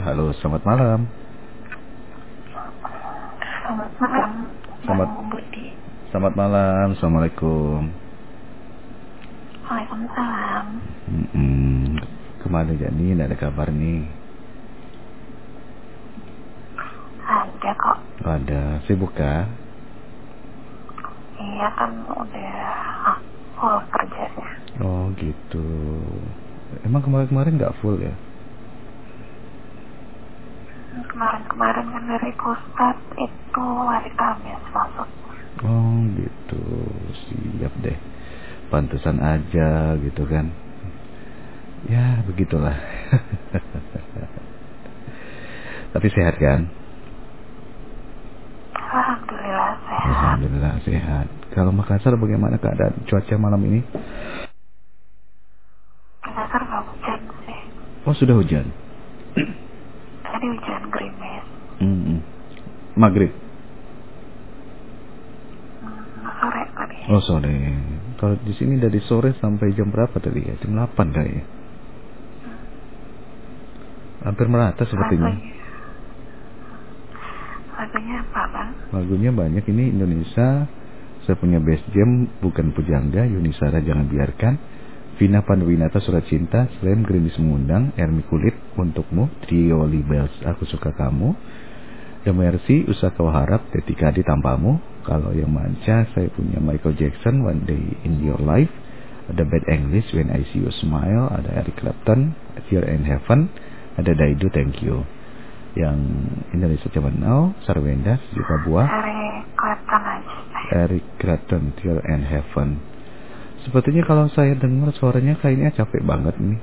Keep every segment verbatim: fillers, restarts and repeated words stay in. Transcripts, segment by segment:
Halo, selamat malam. Selamat malam, Selamat, Bang Budi. selamat malam, assalamualaikum. Waalaikumsalam. Mm-mm. Kemana aja nih, nggak ada kabar nih. Ada kok. Oh, ada, sibuk kah? Iya kan udah ah, full kerjanya. Oh gitu. Emang kemarin-kemarin nggak full ya? Kemarin-kemarin kan dari pusat itu hari Kamis masuk. Oh gitu, siap deh. Pantesan aja gitu kan. Ya begitulah. Tapi sehat kan? Alhamdulillah sehat. Alhamdulillah sehat. Kalau Makassar bagaimana keadaan cuaca malam ini? Dasar nggak hujan sih. Oh sudah hujan. Tadi hujan gerimis. Mm-mm. Maghrib. Hmm, sore tadi. Oh sore. Kalau di sini dari sore sampai jam berapa tadi ya? Jam delapan kali ya. Hampir merata sepertinya. Lagunya, lagunya apa bang? Lagunya banyak ini Indonesia. Saya punya best jam bukan pujangga. Yunisara jangan biarkan. Vina Panduwinata Surat Cinta. Slam Gerimis Mengundang. Ermi Kulit Untukmu. Trio Libels Aku Suka Kamu. The Mercy Usah Kau Harap. Ketika di Tanpamu. Kalau yang manca saya punya Michael Jackson One Day in Your Life. Ada Bad English When I See You Smile. Ada Eric Clapton Tear in Heaven. Ada Daidu Thank You. Yang Indonesia Zaman Now Sarwenda Sejuta Buah. Dari Clapton aja. Eric Clapton Tear in Heaven. Sepertinya kalau saya dengar suaranya kayaknya capek banget nih.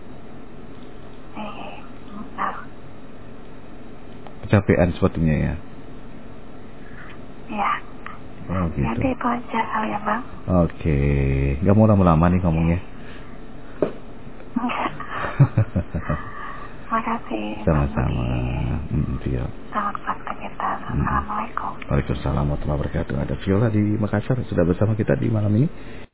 Eh, benar. Kecapean sepertinya ya. Ya. Oh gitu. Jadi itu aja kali ya bang. Oke, nggak mau lama-lama nih ngomongnya. Enggak. Makasih. Sama-sama. Hmm, Viola. Selamat beraktivitas. Hmm. Assalamualaikum. Waalaikumsalam warahmatullahi wabarakatuh. Ada Viola di Makassar sudah bersama kita di malam ini.